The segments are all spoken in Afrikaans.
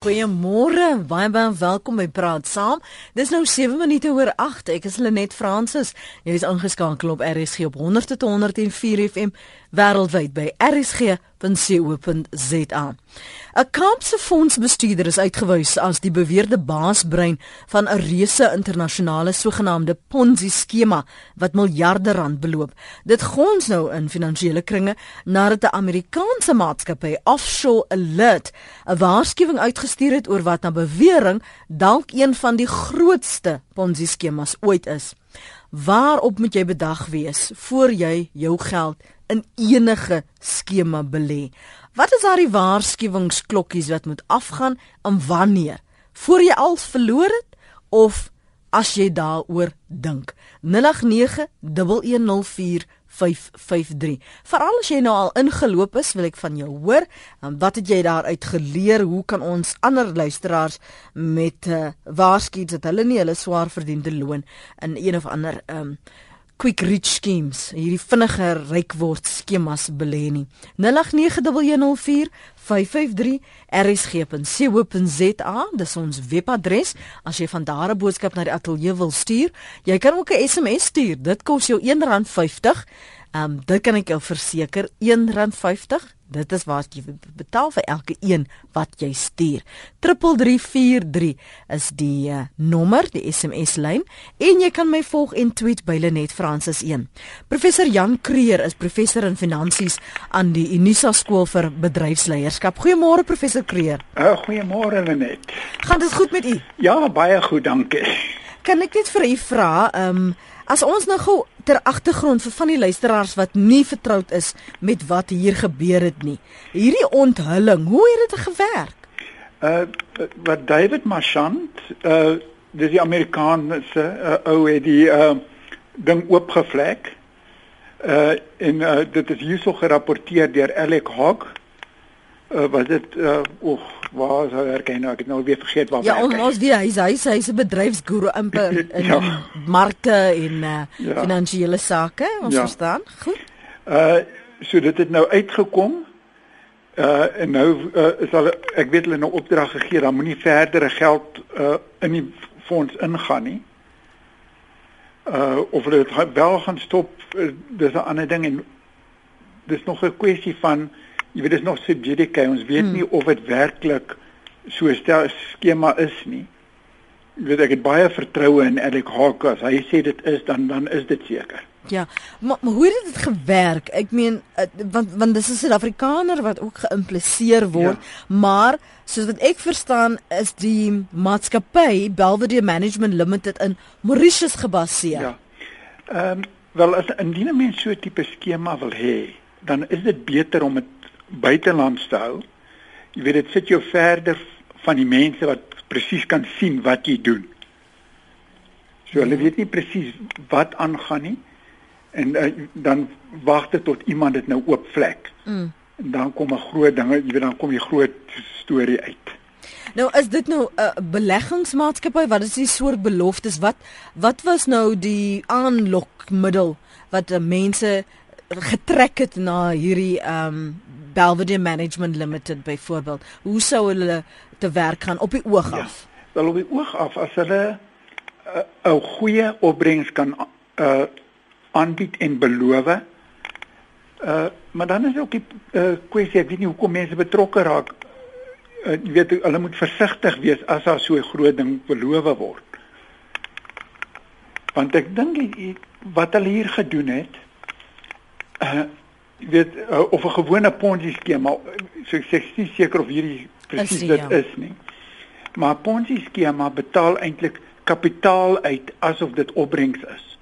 Goeiemôre, baie welkom by Praat Saam. Dis nou 7 minute oor 8. Ek is Lenet Fransis. Jy is ingeskakel op RSG op 100 tot 104 FM wêreldwyd by rsg.co.za. 'n Kaapse fondsbestuurder is uitgewys as die beweerde baasbrein van 'n reuse internasionale sogenaamde Ponzi-skema wat miljarde rand beloop. Dit gons nou in finansiële kringe nadat 'n Amerikaanse maatskappy Offshore Alert 'n waarskuwing uitgestuur het oor wat na bewering dalk een van die grootste Ponzi-skemas ooit is. Waarop moet jy bedag wees voor jy jou geld in enige skema belê? Wat is daar die waarskuwingsklokkies wat moet afgaan en wanneer? Voor jy al verloor het of as jy daaroor dink? 089104553. Veral as jy nou al ingeloop is, wil ek van jou hoor. Wat het jy daaruit geleer? Hoe kan ons ander luisteraars met waarsku dat hulle nie hulle swaar verdiende loon in een of ander quick rich schemes, hierdie vinniger ryk word skemas belê nie. 089104553 rsg.co.za, dis ons webadres. As jy van daar 'n boodskap na die ateljee wil stuur, jy kan ook 'n SMS stuur. Dit kos jou R1.50. Dit kan ek jou verseker, R1.50. Dit is wat jy betaal vir elke een wat jy stuur. 3343 is die nommer, die SMS-lyn. En jy kan my volg en tweet by Lenet Fransis 1. Professor Jan Creer is professor in finansies aan die Unisa Skool vir Bedryfsleierskap. Goeiemôre professor Creer. Goeiemôre Lenet. Gaan dit goed met u? Ja, baie goed, dankie. Kan ek net vir u vra, as ons nou gou ter agtergrond vir van die luisteraars wat nie vertroud is met wat hier gebeur het nie. Hierdie onthulling, hoe het dit gewerk? Wat David Marchant, dis die Amerikaanse ou het die ding oopgevlek. En dit is hierso gerapporteer deur Alec Hogg. Was dit waar sou werk hy nou? Ek het nou weer vergeet waar werk. Ja, ons weet hy's 'n bedryfsguru in ja. Markte en finansiële sake, ons verstaan. Goed. So dit het nou uitgekom. En nou sal ek weet hulle nou opdrag gegee, dan moenie verdere geld in die fonds ingaan nie. Of hulle dit wel gaan stop, dis 'n ander ding en dis nog 'n kwessie van jy weet, dit is nog subjudice, ons weet nie of dit werklik so 'n skema is nie. Jy weet, ek het baie vertroue in Alec Hogg, as hy sê dit is, dan is dit seker. Ja, maar hoe het dit gewerk? Ek meen, want dis 'n Suid-Afrikaner wat ook geïmpliseer word, maar, soos wat ek verstaan, is die maatskappy, Belvedere Management Limited, in Mauritius gebaseer. Ja, wel, indien 'n mens so 'n tipe skema wil hê, dan is dit beter om het buitelands te hou. Jy weet, dit sit jou verder van die mense wat presies kan sien wat jy doen. So hulle weet nie presies wat aangaan nie. En dan wag dit tot iemand dit nou oopvlek. En dan kom 'n groot ding, jy weet, dan kom die groot storie uit. Nou is dit nou 'n beleggingsmaatskappy? Wat is die soort beloftes? Wat was nou die aanlokmiddel wat mense getrek het na hierdie Belvedere Management Limited byvoorbeeld? Hoe sou hulle te werk gaan op die oog af? Wel op die oog af, as hulle 'n goeie opbrengs kan aanbied en beloof. Maar dan is ook die kwessie, ek weet nie hoekom mense betrokke raak. Jy weet, hulle moet versigtig wees as daar so 'n groot ding beloof word. Want ek dink wat hulle hier gedoen het, jy weet, of 'n gewone Ponzi-skema, so ek is nie seker of hierdie presies dit is nie. Maar Ponzi-skema betaal eintlik kapitaal uit asof dit opbrengs is.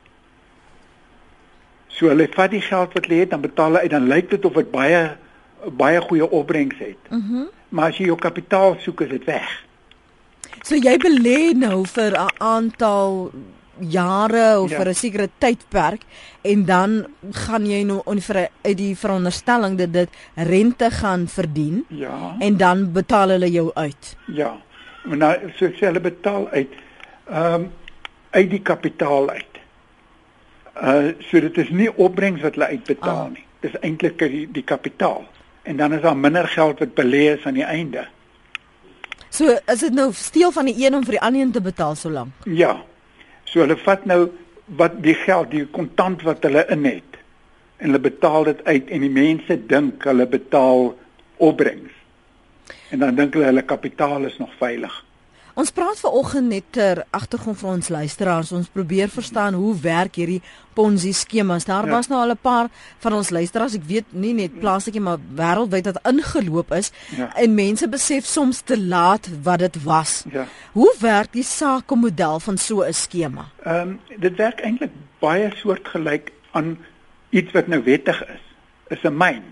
So hulle vat die geld wat hulle het, dan betaal hulle uit, dan lyk dit of dit baie goeie opbrengs het. Maar as jy jou kapitaal soek, is dit weg. So jy belê nou vir 'n aantal jare of vir 'n sekere tydperk en dan gaan jy nou uit die veronderstelling dat dit rente gaan verdien en dan betaal hulle jou uit. Ja, maar nou, so ek sê hulle betaal uit die kapitaal uit. So dit is nie opbrengs wat hulle uitbetaal nie. Dit is eintlik die kapitaal. En dan is daar minder geld wat belê is aan die einde. So is dit nou steel van die een om vir die ander een te betaal so lank? Ja. So hulle vat nou wat die geld, die kontant wat hulle in het en hulle betaal dit uit en die mense dink hulle betaal opbrengs. En dan dink hulle kapitaal is nog veilig. Ons praat vanoggend net ter agtergrond vir ons luisteraars. Ons probeer verstaan hoe werk hierdie Ponzi skemas. Daar was nou al 'n paar van ons luisteraars, ek weet nie net plaaslik nie, maar wêreldwyd wat ingeloop is en mense besef soms te laat wat dit was. Ja. Hoe werk die sakemodel van so 'n skema? Dit werk eintlik baie soortgelyk aan iets wat nou wettig is 'n myn.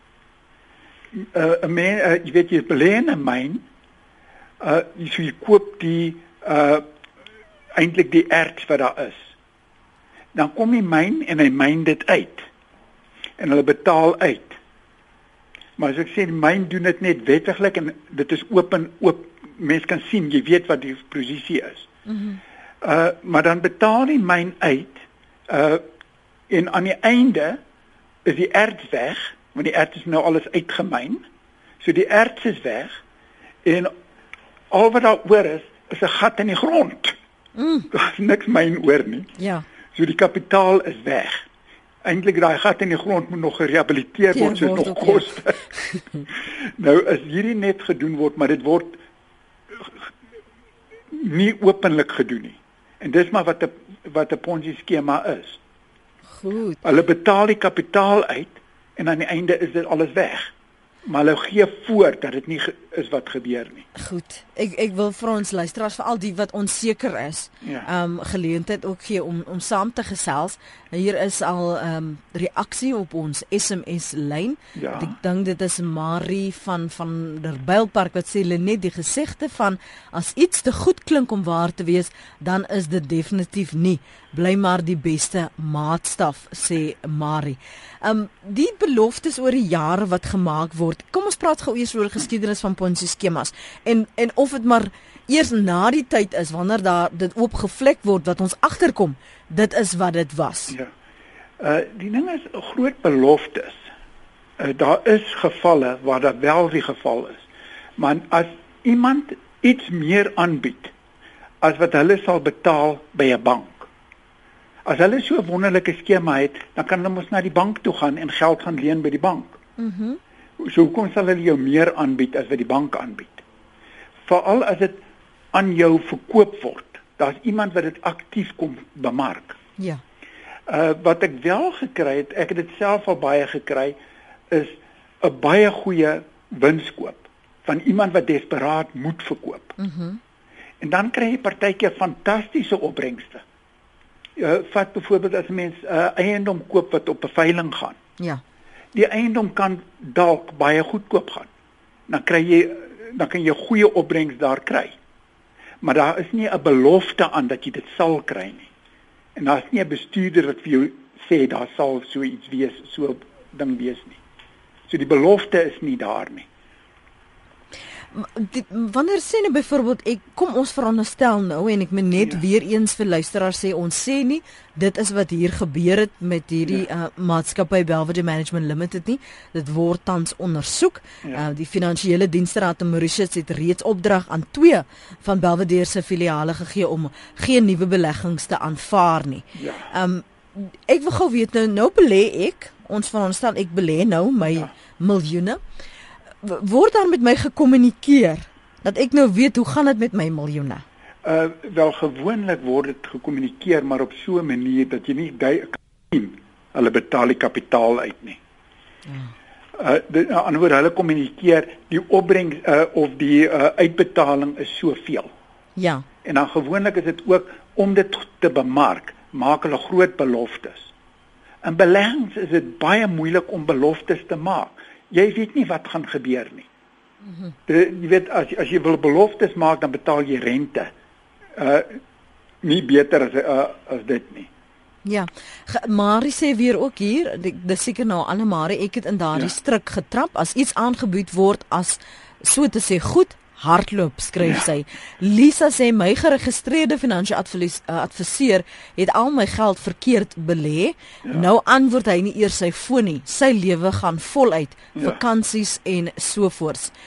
'n myn, jy weet jy belê in 'n myn. Jy koop die eintlik die erts wat daar is. Dan kom die myn en hy myn dit uit. En hulle betaal uit. Maar as ek sê die myn doen dit net wettiglik en dit is oop. Mens kan sien, jy weet wat die posisie is. Maar dan betaal die myn uit en aan die einde is die erts weg, want die erts is nou alles uitgemyn. So die erts is weg en al wat daar oor is 'n gat in die grond. Daar is niks myn oor nie. Ja. So die kapitaal is weg. Eintlik daai gat in die grond moet nog gerehabiliteer word, so dit nog koste. Nou is hierdie net gedoen word, maar dit word nie openlik gedoen nie. En dis maar wat 'n Ponzi skema is. Goed. Hulle betaal die kapitaal uit en aan die einde is dit alles weg. Maar hulle gee voor dat dit nie is wat gebeur nie. Goed. Ek wil vir ons luisteraars, veral die wat onseker is, geleentheid ook gee om saam te gesels. Hier is al reaksie op ons SMS lyn. Ja. Ek dink dit is Marie van der Bylpark wat sê net die gesegde van as iets te goed klink om waar te wees, dan is dit definitief nie. Bly maar die beste maatstaf, sê Marie. Die beloftes oor die jare wat gemaak word. Kom ons praat gou eers oor die geskiedenis van Ponzi skemas en of dit maar eers na die tyd is wanneer daar dit oopgevlek word wat ons agterkom. Dit is wat dit was. Ja. Die ding is groot beloftes. Daar is gevalle waar dat wel die geval is. Maar as iemand iets meer aanbied as wat hulle sal betaal by 'n bank. As hulle so 'n wonderlike skema het, dan kan hulle mos na die bank toe gaan en geld gaan leen by die bank. So hoekom sal hulle jou meer aanbied as wat die bank aanbied? Veral as dit aan jou verkoop word. Daar's iemand wat dit aktief kom bemark. Ja. Wat ek wel gekry het, ek het dit self al baie gekry, is 'n baie goeie winskoop van iemand wat desperaat moet verkoop. En dan kry jy partykeer fantastiese opbrengste. Vat byvoorbeeld as 'n mens eiendom koop wat op 'n veiling gaan. Ja. Die eiendom kan dalk baie goedkoop gaan. Dan kan jy goeie opbrengs daar kry. Maar daar is nie 'n belofte aan dat jy dit sal kry nie. En daar is nie 'n bestuurder wat vir jou sê daar sal so iets wees, so 'n ding wees nie. So die belofte is nie daar nie. Wanneer sê nou byvoorbeeld kom ons veronderstel nou en ek moet net weer eens vir luisteraars sê ons sê nie dit is wat hier gebeur het met hierdie maatskappy Belvedere Management Limited nie. Dit word tans ondersoek. Die Finansiële Diensteraad in Mauritius het reeds opdrag aan 2 van Belvedere se filiale gegee om geen nuwe beleggings te aanvaar nie. Ek wil gou weet nou belê ek, ons veronderstel ek belê nou my miljoene. Word daar met my gekommunikeer dat ek nou weet hoe gaan dit met my miljoene? Wel gewoonlik word dit gekommunikeer, maar op so 'n manier dat jy nie kan sien hulle betaal die kapitaal uit nie. Anderswoorde hulle kommunikeer die opbrengs of die uitbetaling is soveel. Ja. En dan gewoonlik is dit ook om dit te bemark, maak hulle groot beloftes. In beleggings is dit baie moeilik om beloftes te maak. Jy weet nie wat gaan gebeur nie. Jy weet as jy wil beloftes maak, dan betaal jy rente. Nie beter as dit nie. Ja. Marie sê weer ook hier, dis seker nou Anne Marie, ek het in daardie struik getrap as iets aangebied word as so te sê goed hardloop, skryf sy. Lisa sê my geregistreerde finansiële adviseur het al my geld verkeerd belê. Nou antwoord hy nie eers sy foon nie. Sy lewe gaan voluit, vakansies en so voorts.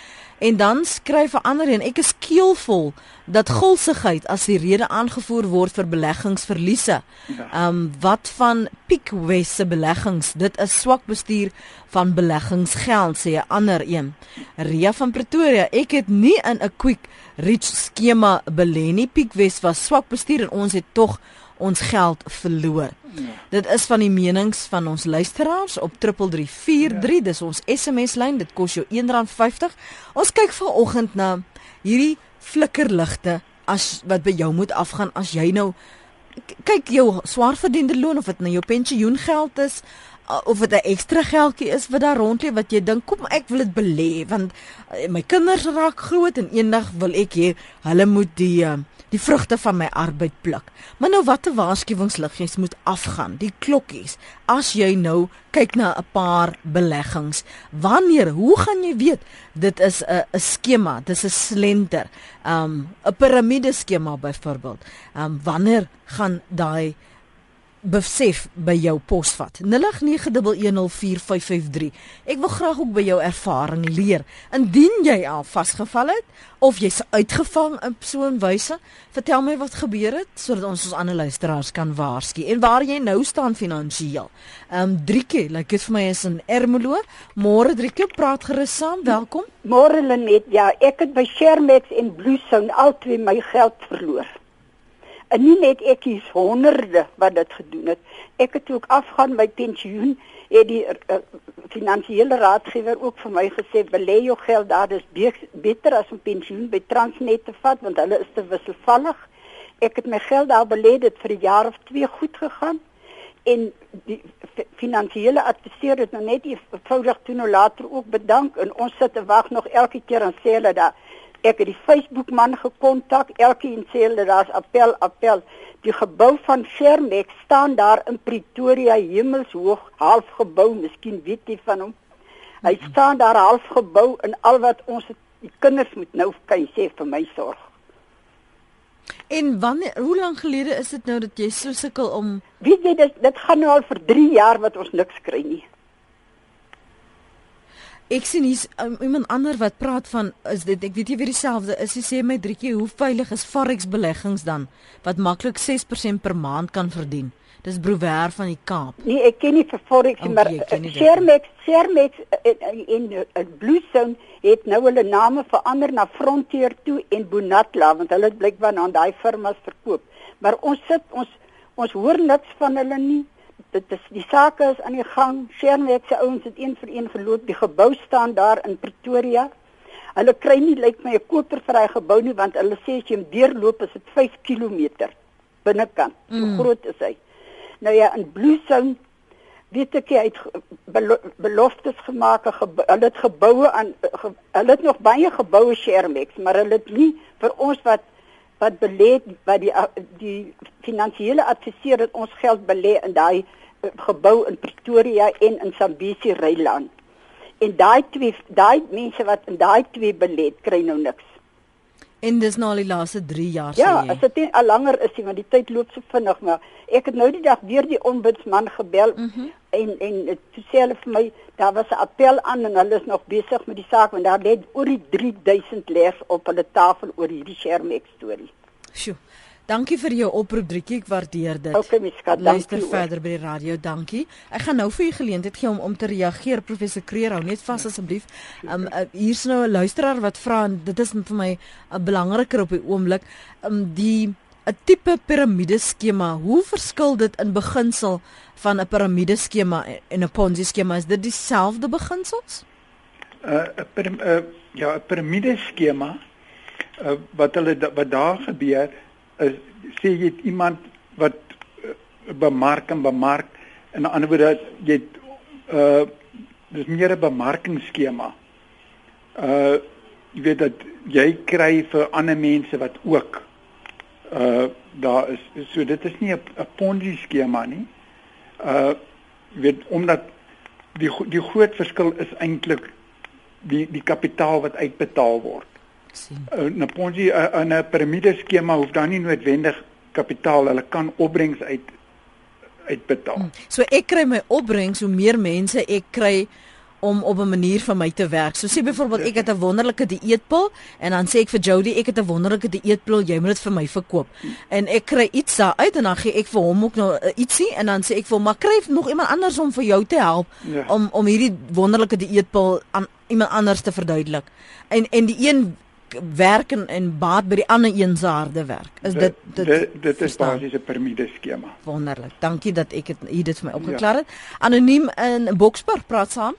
En dan skryf 'n ander een, ek is keelvol dat gulsigheid as die rede aangevoer word vir beleggingsverliese. Wat van Pickwest se beleggings? Dit is swak bestuur van beleggingsgeld, sê 'n ander een. Ria van Pretoria, ek het nie in 'n quick rich skema belê nie. Pickwest was swak bestuur en ons het tog ons geld verloor. Dit is van die menings van ons luisteraars op 3343, dis ons SMS-lyn, dit kos jou R1.50. Ons kyk vanoggend na hierdie flikkerligte wat by jou moet afgaan as jy nou kyk jou swaar verdiende loon, of dit nou jou pensioengeld is, of dit 'n ekstra geldjie is wat daar rondleef, wat jy dink, kom ek wil dit belê, want my kinders raak groot en eendag wil ek hê hulle moet die vrugte van my arbeid pluk. Maar nou watter waarskuwingsliggies moet afgaan, die klokkies, as jy nou kyk na 'n paar beleggings. Wanneer, hoe gaan jy weet dit is 'n skema, dit is 'n slenter, 'n piramideskema byvoorbeeld. Wanneer gaan daai besef by jou posvat? 0891104553. Ek wil graag ook by jou ervaring leer. Indien jy al vasgeval het of jy's uitgevang in so 'n wyse, vertel my wat gebeur het sodat ons ander luisteraars kan waarsku en waar jy nou staan finansiëel. Drieke, like dit vir my is in Ermelo. Môre Drieke, praat gerus saam. Welkom. Môre Lenet, ja, ek het by Shermax en Bluestone albei my geld verloor. En nie net ek, hier's honderde wat dit gedoen het. Ek het ook afgaan my pensioen, het die finansiële raadgewer ook vir my gesê, belê jou geld daar, dis beter as om pensioen by Transnet te vat, want hulle is te wisselvallig. Ek het my geld daar belê, dit vir 'n jaar of 2 goed gegaan, en die finansiële adviseur het nou net eenvoudig toe nou later ook bedank, en ons sit te wag nog elke keer en sê hulle daar, ek het die Facebook man gekontak, elkeen sê hulle daar's appel. Die gebou van Shermax staan daar in Pretoria, hemelshoog, half gebou, miskien weet jy van hom. Hy staan daar half gebou en al wat ons die kinders moet nou kan jy sê vir my sorg. En hoe lank gelede is dit nou dat jy so sukkel om... Weet jy, dit gaan nou al vir 3 jaar wat ons niks kry nie. Ek sien hier's iemand ander wat praat van, is dit, ek weet nie weer dieselfde is, hy sê my Drietjie, hoe veilig is Forex beleggings dan, wat maklik 6% per maand kan verdien? Dis Brouwer van die Kaap. Nee, ek ken nie vir Forex, maar Shermax en Bluestone het nou hulle name verander na Frontier toe en Bonatla, want hulle het blykbaar aan daai firmas verkoop. Maar ons hoor niks van hulle nie. Die sake is aan die gang. Shermax se ouens het een vir een geloop. Die gebou staan daar in Pretoria. Hulle kry nie lyk my 'n koper vir daai gebou nie, want hulle sê as jy hom deurloop is dit 5 km binnekant. So groot is hy. Nou ja, in Bluestone weet ek hy het beloftes gemaak, hulle het geboue aan hulle het nog baie geboue Shermax, maar hulle het nie vir ons wat belê, wat die finansiële adviseur het ons geld belê in daai gebou in Pretoria en in Sambesi Ryland. En daai mense wat in daai twee belê het, kry nou niks. En dis nou al die laaste 3 jaar, ja, sê jy? As dit nie al langer is nie, want die tyd loop so vinnig, maar ek het nou die dag weer die ombudsman gebel en toe sê hulle vir my, daar was 'n appel aan en hulle is nog besig met die saak, want daar lê oor die 3000 leers op hulle tafel oor hierdie Shermax storie. Sjoe. Dankie vir jou oproep, Drietjie, ek waardeer dit. Okay, my skat, luister verder by die radio, dankie. Ek gaan nou vir u geleentheid gee om te reageer, professor Kreer, hou net vas asseblief. Hier's nou 'n luisteraar wat vra, en dit is vir my belangriker op die oomblik, 'n tipe piramideskema, hoe verskil dit in beginsel van 'n piramideskema en 'n Ponzi skema? Is dit dieselfde beginsels? 'n piramideskema, wat daar gebeur is, sê jy het iemand wat bemark, en 'n ander woorde, jy het dis meer 'n bemarkingsskema. Jy weet dat jy kry vir ander mense wat ook daar is. So dit is nie 'n Ponzi skema nie. Jy weet, omdat die groot verskil is eintlik die kapitaal wat uitbetaal word. 'n Ponzi, 'n piramideskema hoef dan nie noodwendig kapitaal, hulle kan opbrengs uitbetaal. So ek kry my opbrengs hoe meer mense ek kry om op 'n manier vir my te werk. So sê byvoorbeeld ek het 'n wonderlike dieetpil en dan sê ek vir Jody ek het 'n wonderlike dieetpil, jy moet dit vir my verkoop. En ek kry iets daar uit en dan gee ek vir hom ook nou ietsie en dan sê ek vir hom maar kry nog iemand anders om vir jou te help om hierdie wonderlike dieetpil aan iemand anders te verduidelik. En die een werk en baat by die ander een se harde werk. Is dit is basies 'n piramide skema. Wonderlik. Dankie dat ek dit vir my opgeklaar het. Anoniem in Boksburg praat saam.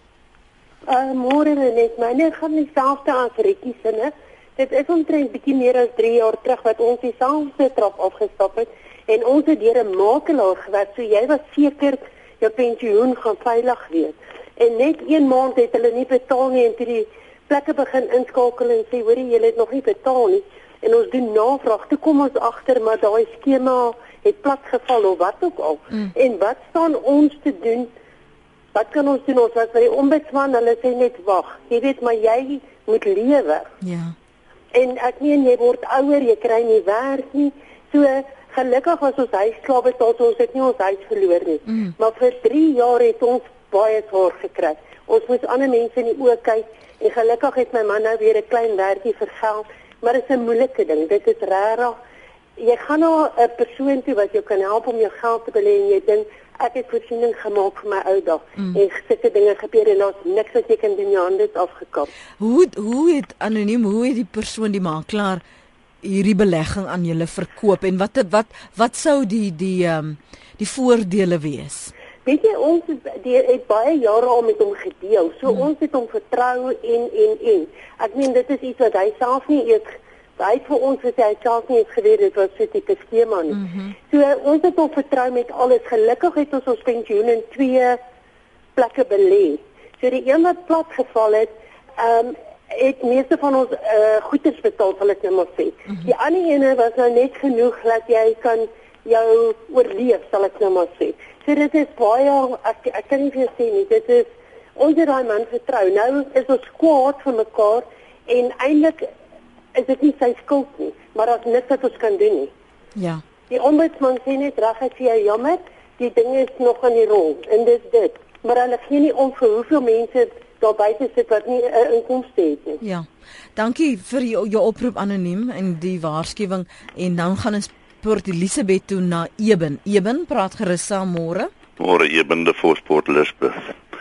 Môre net, myne gaan dieselfde as Rikkie se. Dit is omtrent bietjie meer as 3 jaar terug wat ons dieselfde trap afgestap het en ons het deur 'n makelaar gewerk. So jy was seker jou pensioen gaan veilig wees. En net 1 maand het hulle nie betaal nie en toe die plekke begin inskakel en sê hoorie julle het nog nie betaal nie en ons doen navraag. Toe kom ons agter maar daai skema het platgeval of wat ook al. En wat staan ons te doen? Wat kan ons doen? Ons was by die ombudsman, hulle sê net wag. Jy weet maar jy moet lewe. Ja. En ek meen jy word ouer, jy kry nie werk nie. So gelukkig was ons huis klaar betaal, so ons het nie ons huis verloor nie. Maar vir 3 jaar het ons baie swaar gekry. Ons moes ander mense in die oë kyk en gelukkig het my man nou weer 'n klein werkie vir geld, maar dit is 'n moeilike ding. Dit is regtig. Jy gaan na 'n persoon toe wat jou kan help om jou geld te belê en jy dink ek het voorsiening gemaak vir my ou dag en sulke dinge gebeur en daar's niks wat jy kan doen, jou hande is afgekap. Hoe het anoniem, hoe het die persoon, die makelaar hierdie belegging aan julle verkoop en wat sou die voordele wees? Weet jy, ons het baie jare al met hom gedeel. So ons het hom vertrou en. Ek meen dit is iets wat hy self nie eers hy vir ons gesê hy self nie eens geweet dit was so 'n tipe skema nie. So ons het hom vertrou met alles. Gelukkig het ons pensioen in 2 plekke belê. So die een wat plat geval het meeste van ons goederes betaal, sal ek nou maar sê. Die ander ene was nou net genoeg dat jy kan jou oorleef, sal ek nou maar sê. So dit is baie, ek kan nie vir sê nie, dit is, ons het daai man vertrou. Nou is ons kwaad vir mekaar en eintlik is dit nie sy skuld nie, maar daar's niks wat ons kan doen nie. Ja. Die ombudsman sê net reguit vir jou jammer, die ding is nog aan die rol en dis dit. Maar hulle gee nie om vir hoeveel mense daar buite sit wat nie 'n inkomste het nie. Ja. Dankie vir jou oproep anoniem en die waarskuwing en dan gaan ons Port Elizabeth toe na Eben. Eben, praat gerus saam môre. Môre Eben de Port Elizabeth.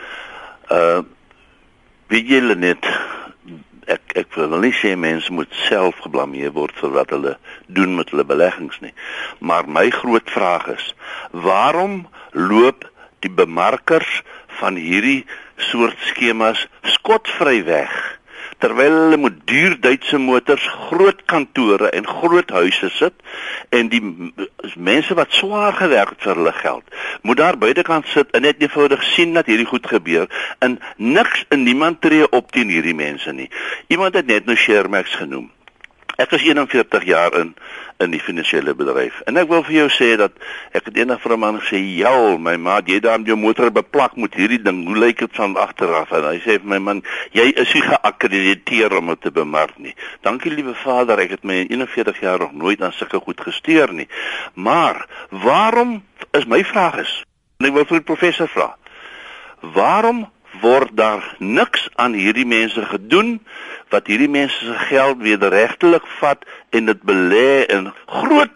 Weet julle net, ek wil nie sê mense moet self geblameer word vir wat hulle doen met hulle beleggings nie. Maar my groot vraag is, waarom loop die bemarkers van hierdie soort skemas skotvry weg? Terwyl hulle met duur Duitse motors, groot kantore en groot huise sit en die mense wat swaar gewerk het vir hulle geld, moet daar buitekant sit en net eenvoudig sien dat hierdie goed gebeur en niks en niemand tree op teen hierdie mense nie. Iemand het net nou Shermax genoem. Ek is 41 jaar in die finansiële bedryf. En ek wil vir jou sê dat ek het eendag vir 'n man gesê, "Ja, my maat, jy daar met jou motor beplak met hierdie ding. Hoe lyk dit van agteraf?" En hy sê vir my man, "Jy is nie geakkrediteer om dit te bemark nie." Dankie liewe Vader, ek het my in 41 jaar nog nooit aan sulke goed gesteer nie. Maar waarom is my vraag is, en ek wil vir die professor vra, waarom word daar niks aan hierdie mense gedoen wat hierdie mense se geld wederregtelik vat en dit belê in groot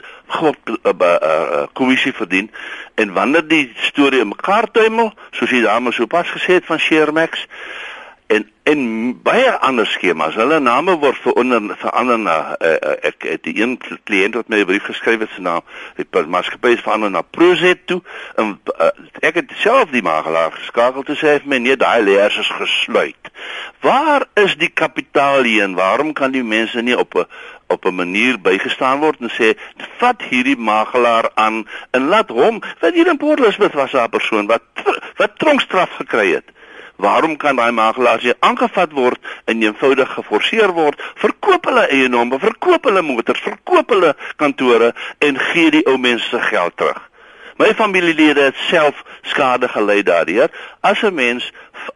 kommissie verdien en wanneer die storie in mekaar tuimel, soos die dame so pas gesê het van Shermax en baie ander skemas, hulle name word verander na ek het die een kliënt wat my 'n brief geskryf het, sy naam die maatskappy is verander na Prozet toe en ek het self die makelaar geskakel toe sê hy vir my nee, daai leers is gesluit. Waar is die kapitaal hier en waarom kan die mense nie op 'n manier bygestaan word en sê vat hierdie makelaar aan en laat hom, wat hier in Port Elizabeth was 'n persoon wat tronkstraf gekry het. Waarom kan daai makelaars hier aangevat word en eenvoudig geforseer word, verkoop hulle eiendomme, verkoop hulle motors, verkoop hulle kantore en gee die ou mense se geld terug. My familielede het self skade gelei daardeur. As 'n mens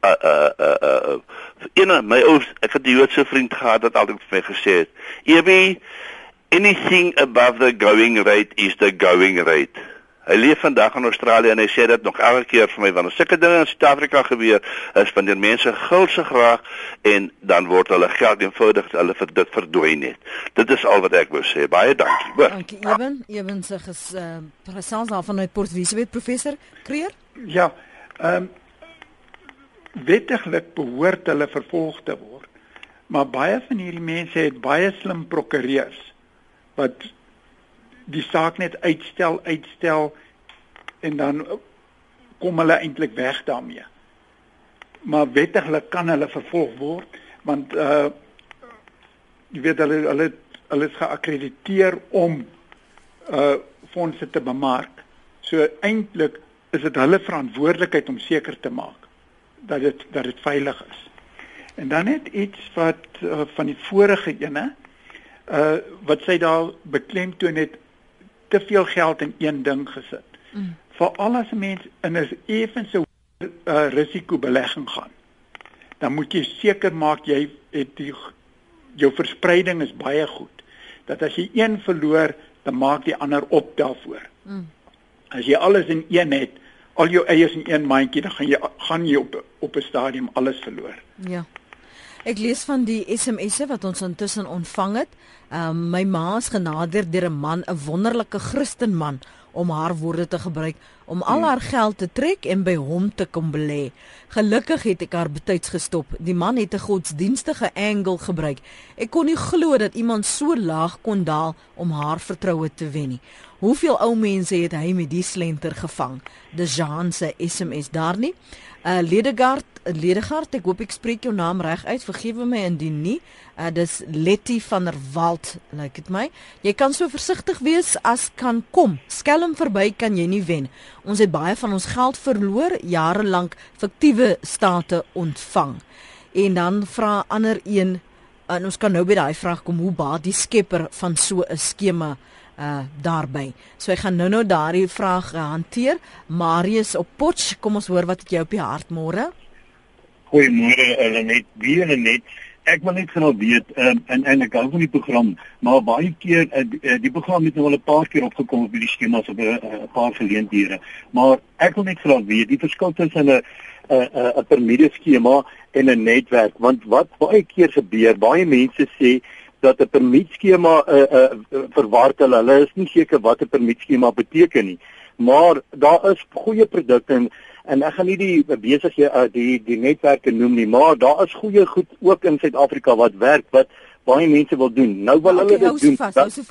my ou, ek het 'n Joodse vriend gehad wat altyd vir my gesê het, "Ebi, anything above the going rate is the going rate." Hy leef vandag in Australië en hy sê dit nog elke keer vir my, want as sulke dinge in Suid-Afrika gebeur, is wanneer mense gulse graag en dan word hulle geld eenvoudig dit verdwyn net. Dit is al wat ek wou sê. Baie dankie. Hoor. Dankie Eben se gesels daar vanuit Port Elizabeth, professor Creer. Ja, wettiglik behoort hulle vervolg te word. Maar baie van hierdie mense het baie slim prokureurs wat die saak net uitstel en dan kom hulle eintlik weg daarmee. Maar wettiglik kan hulle vervolg word want jy weet hulle is geakkrediteer om fondse te bemark. So eintlik is dit hulle verantwoordelikheid om seker te maak dat dit veilig is. En dan net iets wat van die vorige ene wat sy daar beklemtoon het te veel geld in een ding gesit. Veral as 'n mens in 'n effense risikobelegging gaan, dan moet jy seker maak jy het jou verspreiding is baie goed. Dat as jy een verloor, dan maak die ander op daarvoor. As jy alles in een het, al jou eiers in een mandjie, dan gaan jy op 'n stadium alles verloor. Ja. Ek lees van die SMS'e wat ons intussen ontvang het. My ma is genader deur 'n man, 'n wonderlike Christenman, om haar woorde te gebruik, om al haar geld te trek en by hom te kom belê. Gelukkig het ek haar betyds gestop. Die man het 'n godsdienstige angle gebruik. Ek kon nie glo dat iemand so laag kon daal om haar vertroue te wen nie. Hoeveel ou mense het hy met die slenter gevang? Dis Jean se SMS daar nie. Ledegard, ek hoop ek spreek jou naam reg uit, vergewe my indien nie. Dis Letty van der Walt, lyk dit my. Jy kan so versigtig wees as kan kom. Skelm verby kan jy nie wen. Ons het baie van ons geld verloor, jare lank fiktiewe state ontvang. En dan vra ander een, en ons kan nou by daai vraag kom, hoe baat die skepper van so 'n skema daarby. So ek gaan nou daardie vraag hanteer. Marius op Potch, kom ons hoor wat het jy op die hart môre? Goeiemôre Lenet. Ek wil net graag weet en ek hou van die program, maar baie keer die program het nou al 'n paar keer opgekom op die skemas op 'n paar geleenthede. Maar ek wil net graag weet die verskil tussen 'n piramideskema en 'n netwerk, want wat baie keer gebeur, baie mense sê dat 'n permietskema verward hulle is nie seker wat 'n permietskema beteken nie. Maar daar is goeie produkte en ek gaan nie die netwerke noem nie, maar daar is goeie goed ook in Suid-Afrika wat werk wat baie mense wil doen. Nou wil hulle dit doen.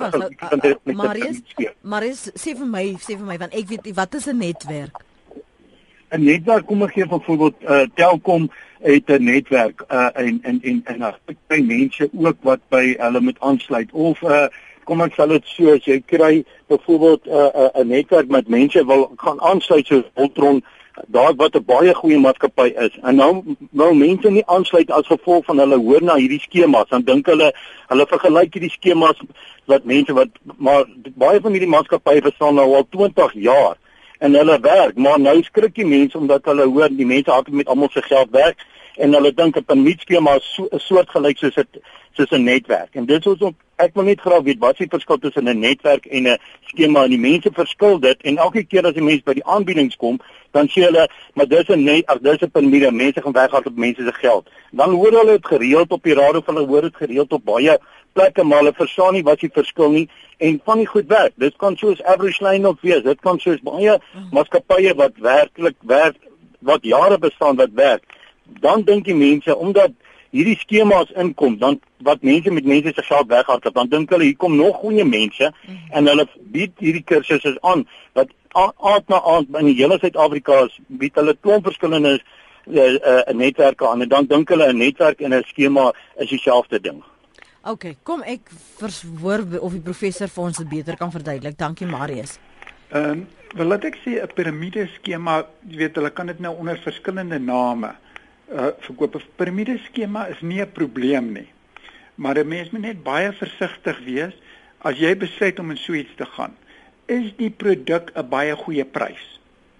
Marius, sê vir my want ek weet wat is 'n netwerk? 'n Netwerk, kom ek gee byvoorbeeld Telkom het 'n netwerk en daar by mense ook wat by hulle moet aansluit of kom ek sal dit so as jy kry byvoorbeeld 'n netwerk met mense wil gaan aansluit soos Voltron, daar wat 'n baie goeie maatskappy is en nou wil mense nie aansluit as gevolg van hulle hoor na hierdie skemas, dan dink hulle vergelyk hierdie skemas wat mense maar baie van hierdie maatskappye bestaan nou al 20 jaar en hulle werk, maar nou skrik die mense omdat hulle hoor die mense hardop met almal se geld werk en hulle dink 'n permietskema is 'n soortgelyk soos 'n netwerk. En dit is ook ek wil net graag weet wat is die verskil tussen 'n netwerk en 'n skema en die mense verskil dit en elke keer as die mense by die aanbiedings kom, dan sê hulle maar dis 'n permiet, mense gaan weghard op mense se geld. Dan hoor hulle dit gereeld op die radio, hulle hoor dit gereeld op baie plekke, maar hulle verstaan nie wat die verskil nie en van die goed werk. Dit kan soos Average Line of wees, dit kan soos baie maatskappye wat werklik werk, wat jare bestaan wat werk. Dan dink die mense omdat hierdie skemas inkom, dan wat mense met mense se geld weghardloop, dan dink hulle hier kom nog goeie mense en hulle bied hierdie kursusse aan wat aand na aand in die hele Suid-Afrika bied hulle klomp verskillende netwerke aan en dan dink hulle 'n netwerk en 'n skema is dieselfde ding. Okay, kom ek verhoor of die professor vir ons dit beter kan verduidelik. Dankie Marius. Wel laat ek sê 'n piramideskema, jy weet hulle kan dit nou onder verskillende name verkoop. 'n Piramideskema is nie 'n probleem nie. Maar 'n mens moet net baie versigtig wees as jy besluit om in so iets te gaan. Is die produk 'n baie goeie prys?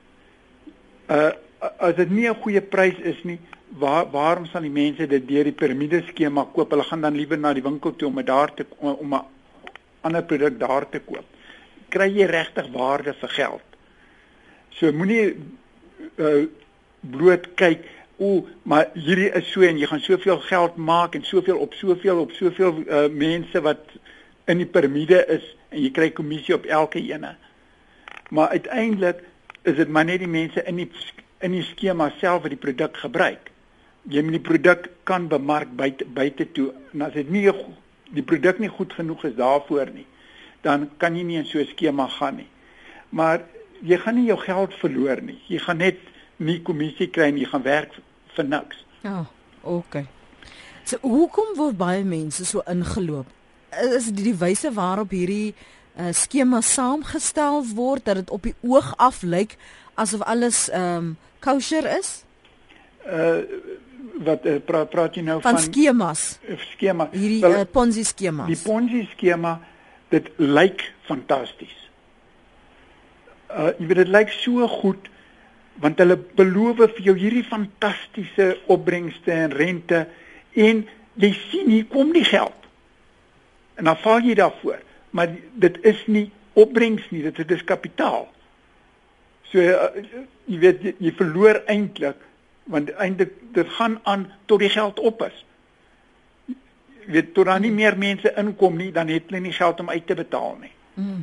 As dit nie 'n goeie prys is nie, waarom sal die mense dit deur die piramideskema koop? Hulle gaan dan liewer na die winkel toe om 'n ander produk daar te koop. Kry jy regtig waarde vir geld So moenie bloot kyk, maar hierdie is so en jy gaan soveel geld maak en soveel op soveel mense wat in die piramide is en jy kry kommissie op elke ene. Maar uiteindelik is dit maar net die mense in die skema self wat die produk gebruik. Jy moet die produk kan bemark buite toe. En as dit nie die produk nie goed genoeg is daarvoor nie, dan kan jy nie in so 'n skema gaan nie. Maar jy gaan nie jou geld verloor nie. Jy gaan net nie kommissie kry en jy gaan werk vir niks. Ja, okay. So hoekom word baie mense so ingeloop? Is dit die wyse waarop hierdie skema saamgestel word dat dit op die oog af lyk asof alles kosher is? Wat praat jy nou van skemas? Skema. Hierdie Ponzi skemas. Die Ponzi skema, dit lyk fantasties. Jy weet dit lyk so goed want hulle beloof vir jou hierdie fantastiese opbrengste en rente en jy sien hier kom die geld. En dan val jy daarvoor, maar dit is nie opbrengs nie, dit is kapitaal. So jy weet jy verloor eintlik want eintlik dit gaan aan tot die geld op is. Jy weet tot daar nie meer mense inkom nie, dan het hulle nie geld om uit te betaal nie.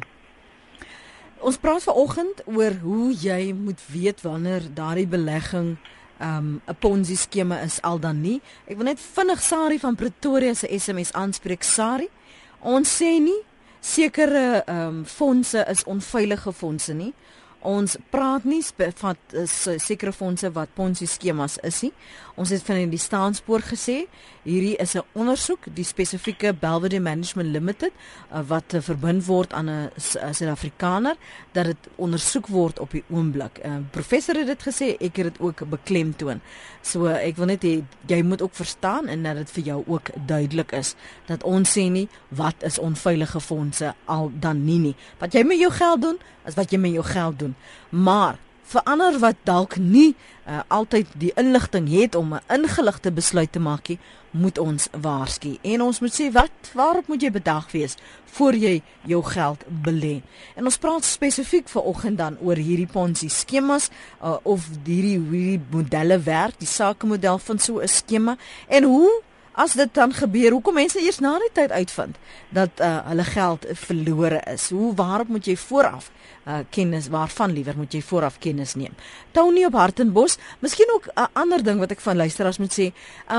Ons praat vanoggend oor hoe jy moet weet wanneer daardie belegging 'n Ponzi skema is al dan nie. Ek wil net vinnig Sari van Pretoria se SMS aanspreek. Sari, ons sê nie sekere fondse is onveilige fondse nie. Ons praat nie van sekere fondse wat Ponzi skemas is nie. Ons het van die staanspoor gesê, hierdie is 'n ondersoek, die spesifieke Belvedere Management Limited wat verbind word aan 'n Suid-Afrikaner, dat dit ondersoek word op die oomblik. Professor het dit gesê, ek het dit ook beklemtoon. So ek wil net hê jy moet ook verstaan en dat dit vir jou ook duidelik is dat ons sê nie wat is onveilige fondse al dan nie. Wat jy met jou geld doen, is wat jy met jou geld doen. Maar vir ander wat dalk nie altyd die inligting het om 'n ingeligte besluit te maak nie, moet ons waarsku. En ons moet sê waarop moet jy bedag wees voor jy jou geld belê. En ons praat spesifiek vanoggend dan oor hierdie Ponzi skemas of hierdie modelle werk, die sakemodel van so 'n skema en hoe as dit dan gebeur, hoekom mense eers na die tyd uitvind dat hulle geld verlore is. Waarop moet jy vooraf waarvan liewer moet jy vooraf kennis neem. Tony op Hartenbos, miskien ook 'n ander ding wat ek van luisteraars moet sê,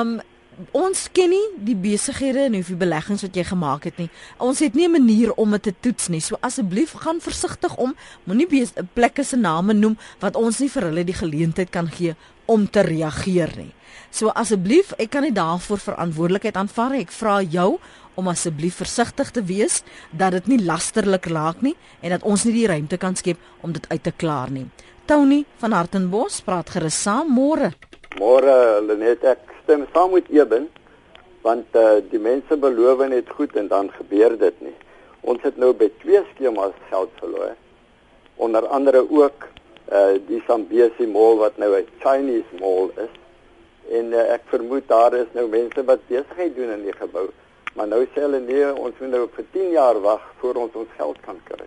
ons ken nie die besighede en hoeveel beleggings wat jy gemaak het nie. Ons het nie 'n manier om dit te toets nie. So asseblief gaan versigtig om, moenie plekke se name noem wat ons nie vir hulle die geleentheid kan gee om te reageer nie. So asseblief, ek kan nie daarvoor verantwoordelikheid aanvaar. Ek vra jou om asseblief versigtig te wees dat dit nie lasterlik raak nie en dat ons nie die ruimte kan skep om dit uit te klaar nie. Tony van Hartenbos praat gerus saam. Môre. Môre, Lenet, ek stem saam met Eben, want die mense beloof net goed en dan gebeur dit nie. Ons het nou by 2 skemas geld verloor. Onder andere ook die Zambesi Mall wat nou 'n Chinese mall is. En ek vermoed daar is nou mense wat besigheid doen in die gebou. Maar nou sê hulle nee, ons moet nou vir 10 jaar wag voor ons geld kan kry.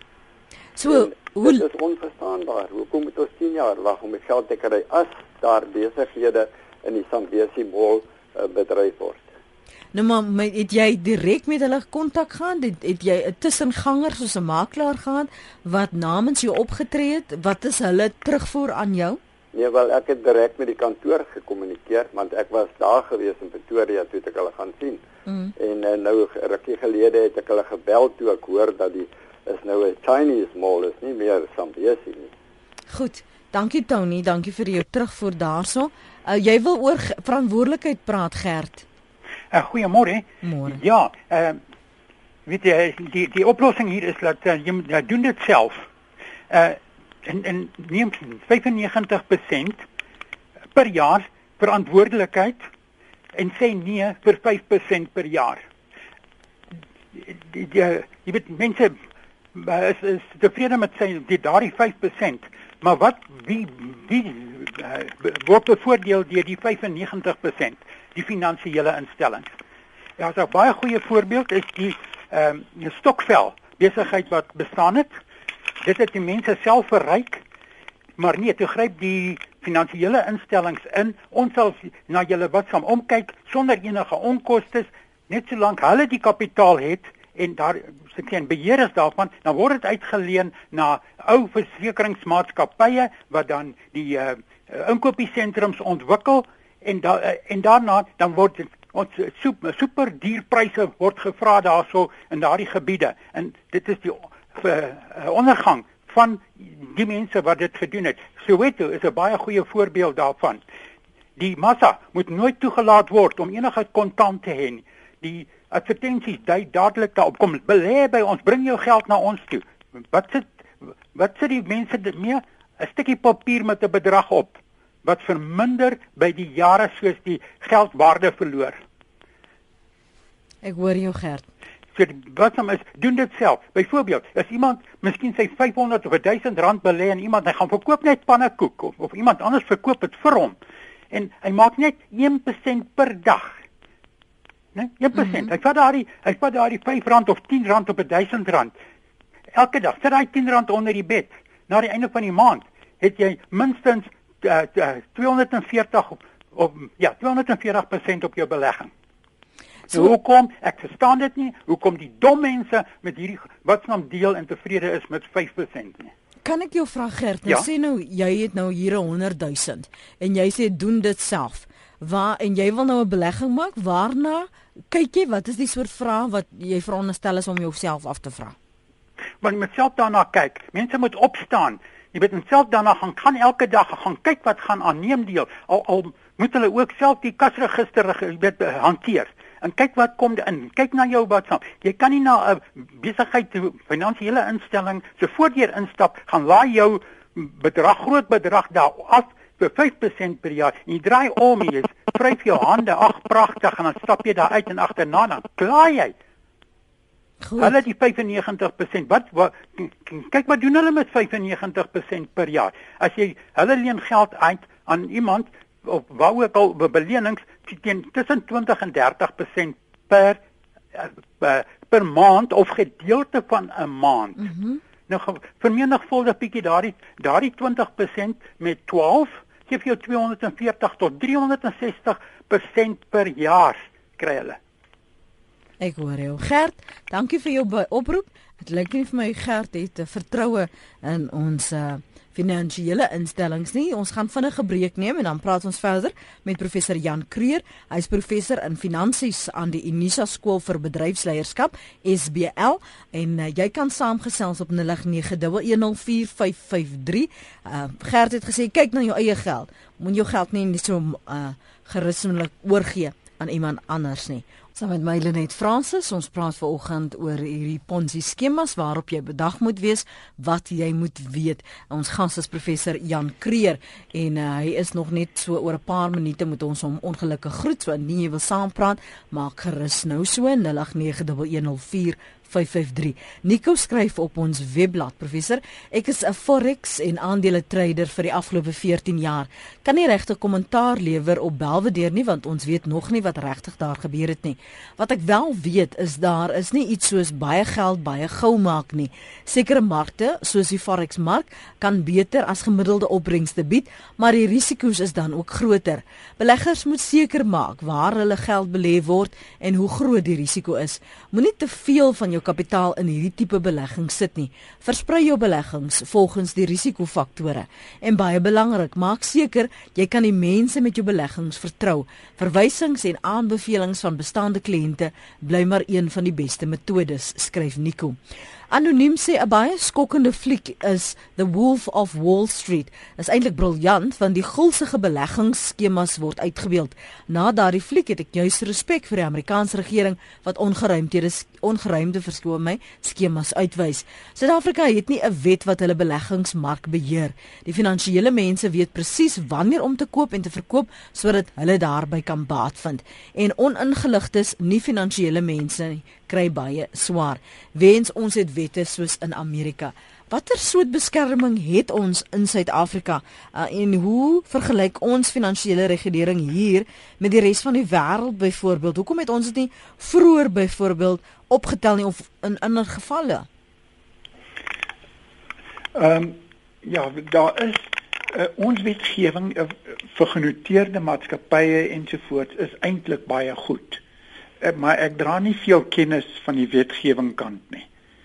So, dit is onverstaanbaar. Hoekom moet ons 10 jaar wag om die geld te kry as daar besighede in die Zambesi Mall bedryf word? Nou maar het jy direk met hulle kontak gehad? Het jy 'n tussenganger soos 'n makelaar gehad wat namens jou opgetree het? Wat is hulle terugvoer aan jou? Nee, wel ek het direk met die kantoor gekommunikeer want ek was daar gewees in Pretoria toe ek hulle gaan sien. En nou rukkie gelede het ek hulle gebel toe ek hoor dat die is nou 'n Chinese mall, is nie meer Zambesi nie. Goed, dankie Tony, dankie vir jou terugvoer daarso. Jy wil oor verantwoordelikheid praat, Gert. Goeiemôre. Môre. Ja, weet jy die oplossing hier is dat jy doen dit self. En neem 95% per jaar verantwoordelikheid en sê nee vir 5% per jaar. Jy weet mense is tevrede met daardie 5%, maar wie word bevoordeel deur die 95%, die finansiële instellings. Ja, 'n baie goeie voorbeeld is die stokvel besigheid wat bestaan het. Dit het die mense self verryk Maar nee, toe gryp die finansiële instellings in. Ons sal na julle wat saam omkyk sonder enige onkoste, net solank hulle die kapitaal het en daar geen beheer is daarvan, dan word dit uitgeleen na ou versekeringsmaatskappye wat dan die inkopiesentrums ontwikkel en daarna dan word ons super duur pryse word gevra daarso in daardie gebiede. En dit is die ondergang van die mense wat dit gedoen het. Soweto is 'n baie goeie voorbeeld daarvan. Die massa moet nooit toegelaat word om enige kontant te hê. Die advertensies dui dadelik daarop, kom belê by ons, bring jou geld na ons toe. Wat sit die mense mee? 'n Stukkie papier met 'n bedrag op wat verminder by die jare soos die geldwaarde verloor. Ek hoor jou, Gert. So wat hom is, doen dit self. Byvoorbeeld, as iemand miskien sy 500 of 1000 rand belê en iemand hy gaan verkoop net pannekoek of iemand anders verkoop dit vir hom en hy maak net 1% per dag. Né? 1%. Hy vat daardie 5 rand of 10 rand op 1000 rand. Elke dag sit hy 10 rand onder die bed. Na die einde van die maand het jy minstens 240% op jou belegging. So hoekom, ek verstaan dit nie, hoekom die dom mense met hierdie watsnaam deel en tevrede is met 5% nie. Kan ek jou vra, Gert, nou sê nou, jy het nou hier 100,000 en jy sê doen dit self. En jy wil nou 'n belegging maak, waarna kyk jy, wat is die soort vrae wat jy veronderstel is om jouself af te vra? Want jy moet self daarna kyk, mense moet opstaan, jy moet self daarna gaan elke dag, gaan kyk wat gaan aanneem deel, al moet hulle ook self die kasregister hanteer. En kyk wat kom in. Kyk na jou WhatsApp. Jy kan nie na 'n besigheid, finansiële instelling so voordeur instap, gaan laai jou groot bedrag daar af vir 5% per jaar. En jy draai om, jy vryf jou hande, ag pragtig, en dan stap jy daar uit en agterna dan klaai jy. Goed. Hulle die 95%. Kyk wat doen hulle met 95% per jaar? As jy hulle leen geld uit aan iemand of wou ek al belenings tussen 20 en 30% per maand of gedeelte van 'n maand. Nou vermenigvuldig bietjie daardie 20% met 12 gee vir jou 240 tot 360% per jaar kry hulle. Ek hoor jou, Gert. Dankie vir jou oproep. Dit lyk nie vir my Gert het vertroue in ons finansiële instellings nie. Ons gaan vinnig 'n breek neem en dan praat ons verder met professor Jan Creer. Hy is professor in finansies aan die Unisa Skool vir Bedryfsleierskap, SBL, en jy kan saamgesels op 0891104553. Gert het gesê kyk na jou eie geld. Moet jou geld nie so gerusmelik oorgee aan iemand anders nie. Saam met my Lenet Francis, ons praat vanoggend oor hierdie Ponzi skemas waarop jy bedag moet wees, wat jy moet weet. Ons gas is professor Jan Creer en hy is nog net so oor 'n paar minute moet ons hom ongelukkig groet. So indien jy wil saampraat, maak gerus nou so 0891104553. Nico skryf op ons webblad, professor, ek is 'n forex en aandele trader vir die afgelope 14 jaar. Kan nie regtig kommentaar lewer op Belvedere nie, want ons weet nog nie wat regtig daar gebeur het nie. Wat ek wel weet is daar is nie iets soos baie geld baie gou maak nie. Sekere markte, soos die forex mark, kan beter as gemiddelde opbrengste bied, maar die risiko's is dan ook groter. Beleggers moet seker maak waar hulle geld belê word en hoe groot die risiko is. Moenie te veel van jou kapitaal in hierdie tipe belegging sit nie. Versprei jou beleggings volgens die risikofaktore. En baie belangrik, maak seker jy kan die mense met jou beleggings vertrou. Verwysings en aanbevelings van bestaande kliënte bly maar een van die beste metodes, skryf Nico. Anoniem sê 'n baie skokkende fliek is The Wolf of Wall Street. Is eintlik briljant want die gulsige beleggingsskemas word uitgebeeld. Na daardie fliek het ek juis respek vir die Amerikaanse regering wat ongeruimde skemas uitwys. Suid-Afrika het nie 'n wet wat hulle beleggingsmark beheer. Die finansiële mense weet presies wanneer om te koop en te verkoop sodat hulle daarby kan baat vind. En oningeligtes, nie finansiële mense kry baie swaar. Wens ons het wette soos in Amerika. Watter soort beskerming het ons in Suid-Afrika en hoe vergelyk ons finansiële regulering hier met die res van die wêreld byvoorbeeld? Hoekom het ons dit nie vroeër byvoorbeeld opgetel nie of in ander gevalle? Ja, daar is Ons wetgewing vir genoteerde maatskappye ensovoorts is eintlik baie goed. Maar ek dra nie veel kennis van die wetgewing kant nie.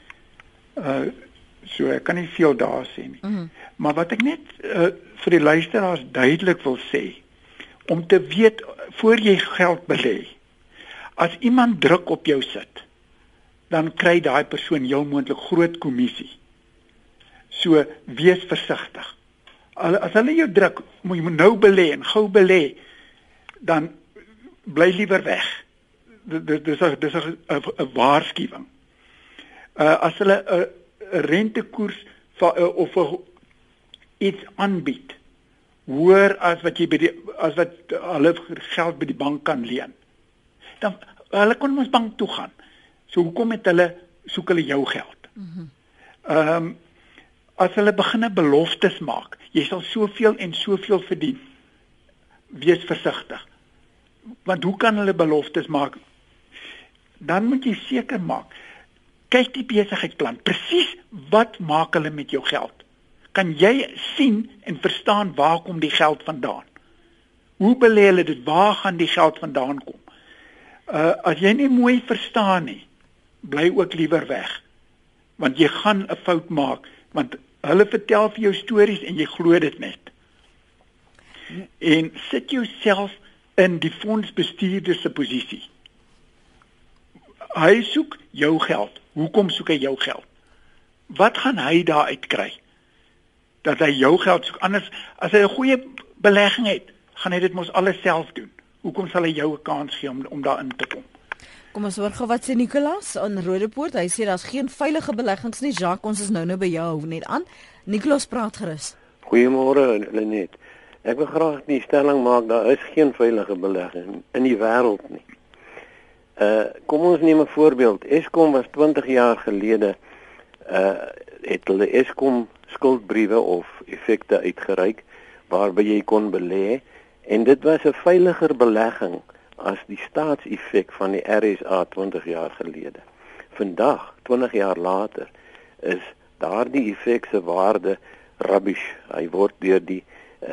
So ek kan nie veel daar sê nie. Maar wat ek net vir die luisteraars duidelik wil sê, om te weet voor jy geld belê, as iemand druk op jou sit, dan kry daai persoon heel moontlik groot kommissie. So wees versigtig. As hulle jou druk, moet jy nou belê en gou belê, dan bly liewer weg. Dis 'n waarskuwing. As hulle 'n rentekoers of iets aanbied, hoër as wat hulle geld by die bank kan leen, dan hulle kon ons bank toe gaan. So hoekom soek hulle jou geld? As hulle begine beloftes maak, jy sal soveel en soveel verdien, wees versigtig. Want hoe kan hulle beloftes maak? Dan moet jy seker maak, kyk die besigheidsplan, presies wat maak hulle met jou geld? Kan jy sien en verstaan waar kom die geld vandaan? Hoe belê hulle dit? Waar gaan die geld vandaan kom? As jy nie mooi verstaan nie, bly ook liewer weg. Want jy gaan 'n fout maak, want hulle vertel vir jou stories en jy glo dit net. En sit jouself in die fondsbestuurder se posisie. Hy soek jou geld. Hoekom soek hy jou geld? Wat gaan hy daaruit kry? Dat hy jou geld soek. Anders, as hy 'n goeie belegging het, gaan hy dit mos alles self doen. Hoekom sal hy jou 'n kans gee om daarin te kom? Kom ons hoor gou wat sê Nicolas aan Rodepoort. Hy sê daar's geen veilige beleggings nie. Jacques, ons is nou by jou net aan. Nicolas, praat gerus. Goeiemôre Lenet. Ek wil graag die stelling maak, daar is geen veilige belegging in die wêreld nie. Kom ons neem 'n voorbeeld. Eskom was 20 jaar gelede het hulle Eskom skuldbriewe of effekte uitgereik waarby jy kon belê en dit was 'n veiliger belegging as die staatseffek van die RSA 20 jaar gelede. Vandag, 20 jaar later, is daardie effek se waarde rubbish. Hy word deur die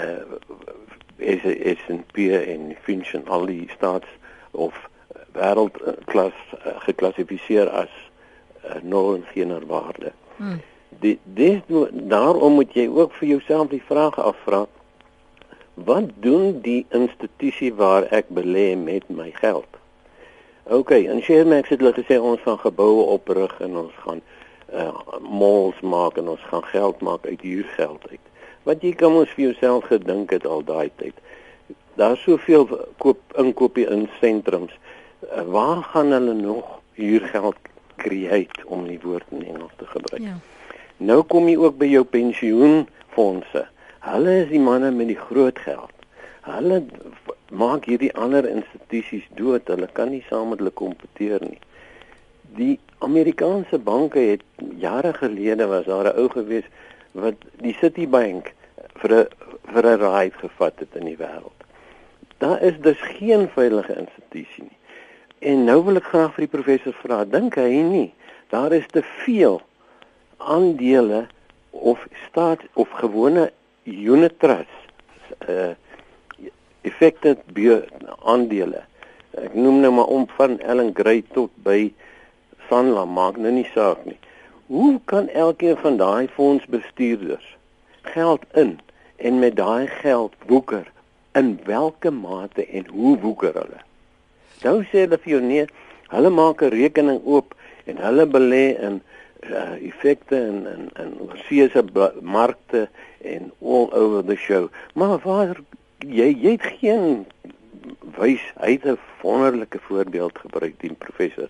S&P en Fitch en al die staats of wêreldklas geklassifiseer as nul en geen waarde. Daarom moet jy ook vir jouself die vraag afvra, wat doen die institusie waar ek belê met my geld? In Sharemax het hulle gesê ons gaan geboue oprig en ons gaan malls maak en ons gaan geld maak uit huurgeld uit. Wat jy kan ons vir jouself gedink het al daai tyd. Daar is soveel inkopie in sentrums. Waar gaan hulle nog huurgeld create, om die woord in Engels te gebruik? Ja. Nou kom jy ook by jou pensioenfondse. Hulle is die manne met die groot geld. Hulle maak hierdie ander institusies dood. Hulle kan nie saam met hulle kompeteer nie. Die Amerikaanse banke het jare gelede was daar 'n ou gewees wat die Citibank vir 'n ride gevat het in die wêreld. Daar is dus geen veilige institusie nie. En nou wil ek graag vir die professor vra, dink hy nie, daar is te veel aandele of staat of gewone unit trusts, effekte aandele. Ek noem nou maar om van Ellen Gray tot by Sanlam, maak nou nie saak nie. Hoe kan elkeen van daai fondsbestuurders geld in en met daai geld woeker? In watter mate en hoe woeker hulle? Nou sê hulle vir jou nee, hulle maak 'n rekening oop en hulle belê in effekte en oorseese markte en all over the show. Maar waar jy het geen wys, hy het 'n wonderlike voorbeeld gebruik, die professor.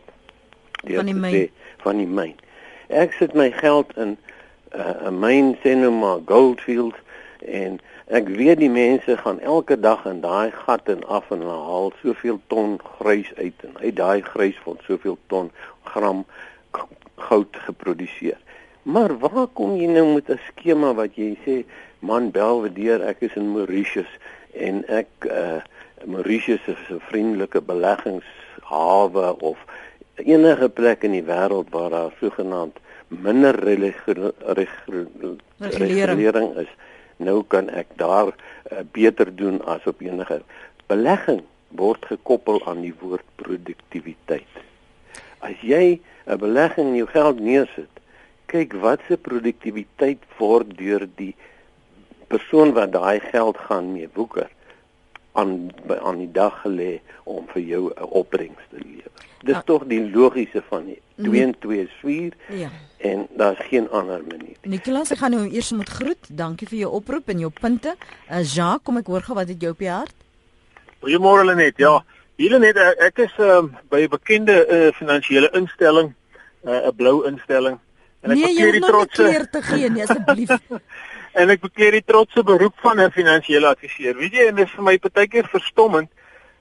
Van die myn. Ek sit my geld in 'n myn, sê nou maar Goldfield, en ek weet die mense gaan elke dag in daai gat en af en hulle haal soveel ton grys uit en uit daai grys word soveel ton gram goud geproduseer. Maar waar kom jy nou met 'n skema wat jy sê, man Belvedere, ek is in Mauritius en ek Mauritius is 'n vriendelike beleggingshawe of enige plek in die wêreld waar daar sogenaamd minder regulering is. nou kan ek daar beter doen as op enige. Belegging word gekoppel aan die woord produktiwiteit. As jy 'n belegging in jou geld neersit, kyk wat se produktiwiteit word deur die persoon wat daai geld gaan mee woeker aan die dag gelê om vir jou 'n opbrengs te lewer. Dis tog die logiese van die 2 en 2 is 4 en daar's geen ander manier. Nicolas, ek gaan nou eers moet groet. Dankie vir jou oproep en jou punte. Jacques, kom ek hoor gou wat het jou op die hart? Goeiemôre Lenet. Ja, Lenet, ek is by 'n bekende finansiële instelling, 'n blou instelling. En ek bekleer die trotse te gee, nee asseblief. En ek bekleer die trotse beroep van 'n finansiële adviseur. Weet jy, en dit is vir my partykeer verstommend.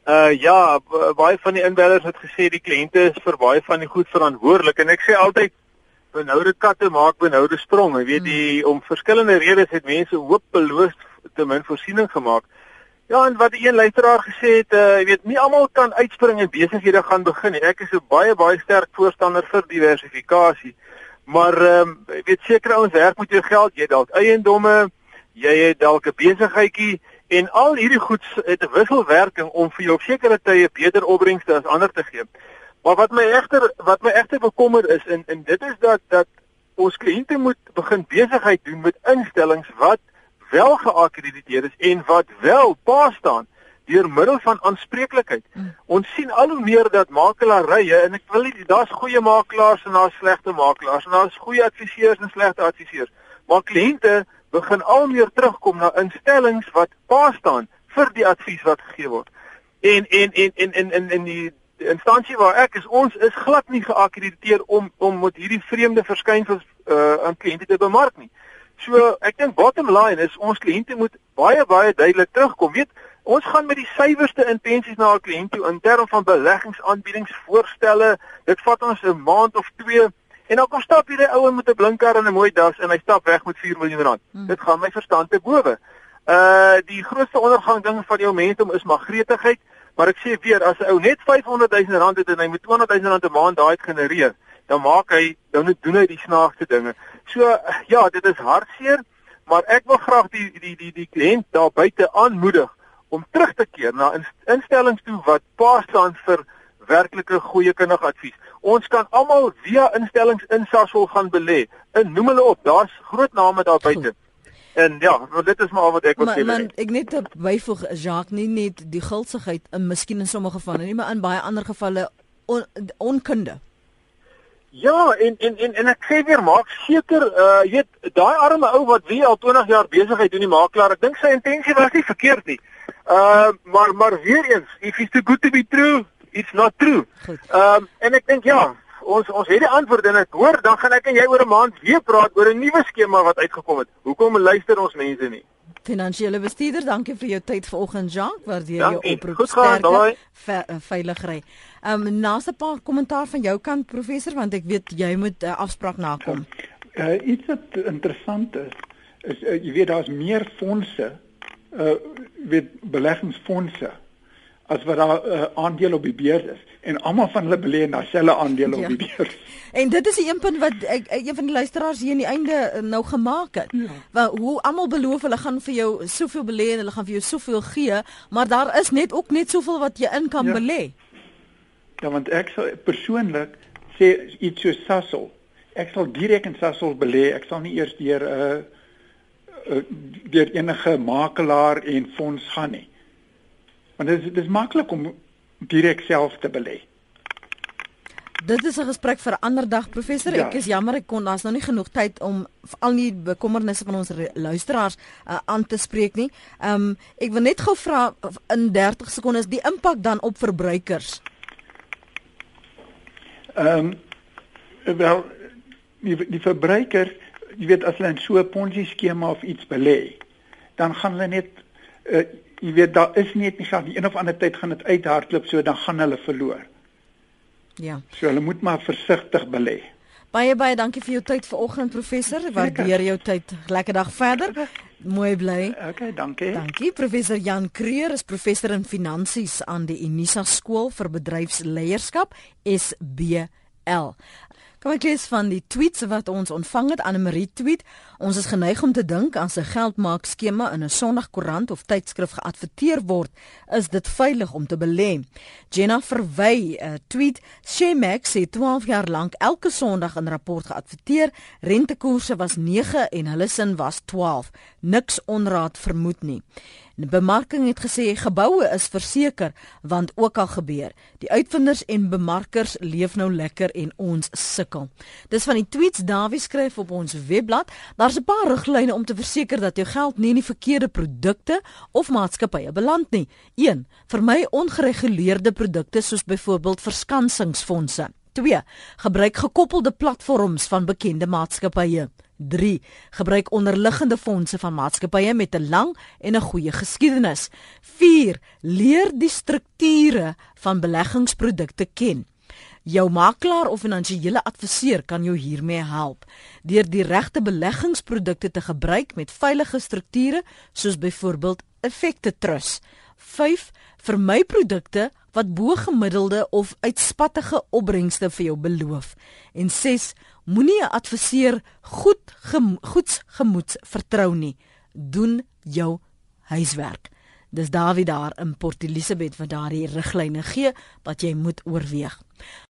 Baie van die inbellers het gesê die kliënte is vir baie van die goed verantwoordelik en ek sê altyd benoude katte maak benoude spronge. Jy weet om verskillende redes het mense hopeloos te min voorsiening gemaak. Ja, en wat die een luisteraar gesê het, jy weet nie almal kan uitspring en besighede gaan begin nie. Ek is 'n baie sterk voorstander vir diversifikasie. Maar jy weet sekere ouens werk met jou geld, jy het dalk eiendomme, jy het dalk 'n besigheidjie en al hierdie goed het 'n wisselwerking om vir jou op sekere tye beter opbrengste as ander te gee. Maar wat my egter bekommer is en dit is dat ons kliënte moet begin besigheid doen met instellings wat wel geakkrediteer is en wat wel pa staan deur middel van aanspreeklikheid. Ons sien al hoe meer dat makelarye en ek wil nie daar's goeie makelaars en daar's slegte makelaars en daar's goeie adviseurs en slegte adviseurs. Maar kliënte begin al meer terugkom na instellings wat pa staan vir die advies wat gegee word. En die instansie waar ek is, ons is glad nie geakkrediteer om met hierdie vreemde verskynsels aan kliënte te bemark nie. So ek dink bottom line is ons kliënte moet baie duidelik terugkom. Weet, ons gaan met die suiwerste intensies na 'n kliënt toe in terme van beleggingsaanbiedings, voorstelle. Dit vat ons 'n maand of 2 en dan kom stap hierdie ouer met 'n blinker en 'n mooi das en hy stap weg met 4 miljoen rand. Dit gaan my verstand te bowe. Die grootste ondergang ding van jou momentum is maar gretigheid, maar ek sê weer as 'n ou net 500 000 rand het en hy moet 200 000 rand 'n maand daai genereer, dan doen hy die snaakste dinge. So ja, dit is hartseer, maar ek wil graag die kliënt daar buite aanmoedig om terug te keer na instellings toe wat pa staan vir werklike goeie kundige advies. Ons kan almal via instellings in Sasol gaan belê. En noem hulle op, daar's groot name daar buite. En ja, dit is maar al wat ek wil sê. Maar ek net byvoeg Jacques, nie net die gulsigheid, miskien in sommige gevalle nie, maar in baie ander gevalle onkunde. Ja, en ek sê weer, maak seker, jy weet, daai arme ou wat wie al 20 jaar besigheid doen die makelaar, ek dink sy intensie was nie verkeerd nie. Maar weer eens, if it's too good to be true, it's not true. En ek dink ja, ons het die antwoord en ek hoor, dan gaan ek en jy oor 'n maand weer praat oor 'n nuwe skema wat uitgekom het. Hoekom luister ons mense nie? Finansiële bestuurder, dankie vir jou tyd vanoggend, Jacques. Waardeer jou oproep. Goed gaan, veilig ry. Naaste paar kommentaar van jou kant, professor, want ek weet jy moet afspraak nakom. Iets wat interessant is jy weet daar's meer fondse, beleggingsfondse as wat daar aandele op die beurs is en almal van hulle belê in dieselfde aandele op die beurs. En dit is die een punt wat een van die luisteraars hier in die einde nou gemaak het. Hoe almal beloof hulle gaan vir jou soveel belê en hulle gaan vir jou soveel gee, maar daar is net soveel wat jy in kan belê. Ja, want ek sal persoonlik sê iets so Sasol. Ek sal direk in Sasol belê. Ek sal nie eers deur enige makelaar en fonds gaan nie. Want dit is maklik om direk self te belê. Dit is 'n gesprek vir 'n ander dag, professor. Ek is jammer daar's nou nie genoeg tyd om al die bekommernisse van ons luisteraars aan te spreek nie. Ek wil net gou vra in 30 sekondes die impak dan op verbruikers. Wel, die verbruiker, jy weet as hulle in so 'n Ponzi skema of iets belê, dan gaan hulle net jy weet daar is net nie gaan die een of ander tyd gaan dit uithardloop, so dan gaan hulle verloor. Ja. So hulle moet maar versigtig belê. Baie dankie vir jou tyd vanoggend, professor. Waardeer jou tyd. Lekker dag verder. Mooi bly. Okay, dankie. Dankie. Professor Jan Kreur is professor in finansies aan die Unisa Skool vir Bedryfsleierskap, SBL. Kom ek lees van die tweets wat ons ontvang het. Annemarie tweet: ons is geneig om te dink as 'n geldmaak skema in 'n Sondagkoerant of tydskrif geadverteer word, is dit veilig om te belê. Jenna Verwy tweet: Shemax sê 12 jaar lank elke Sondag in rapport geadverteer, rentekoerse was 9 en hulle sin was 12. Niks onraad vermoed nie. Die bemarking het gesê geboue is verseker, want ook al gebeur. Die uitvinders en bemarkers leef nou lekker en ons sukkel. Dis van die tweets Dawie skryf op ons webblad. Daar's 'n paar riglyne om te verseker dat jou geld nie in die verkeerde produkte of maatskappye beland nie. 1. Vermy ongereguleerde produkte soos byvoorbeeld verskansingsfondse. 2. Gebruik gekoppelde platforms van bekende maatskappye. 3. Gebruik onderliggende fondse van maatskappye met 'n lang en 'n goeie geskiedenis. 4. Leer die strukture van beleggingsprodukte ken. Jou makelaar of finansiële adviseur kan jou hiermee help deur die regte beleggingsprodukte te gebruik met veilige strukture soos byvoorbeeld effekte trust. 5. Vermy produkte wat bo-gemiddelde of uitspattige opbrengste vir jou beloof. En 6. Moenie 'n adviseur goeds gemoeds vertrou nie. Doen jou huiswerk. Dis Dawie daar in Port Elizabeth wat daardie riglyne gee wat jy moet oorweeg.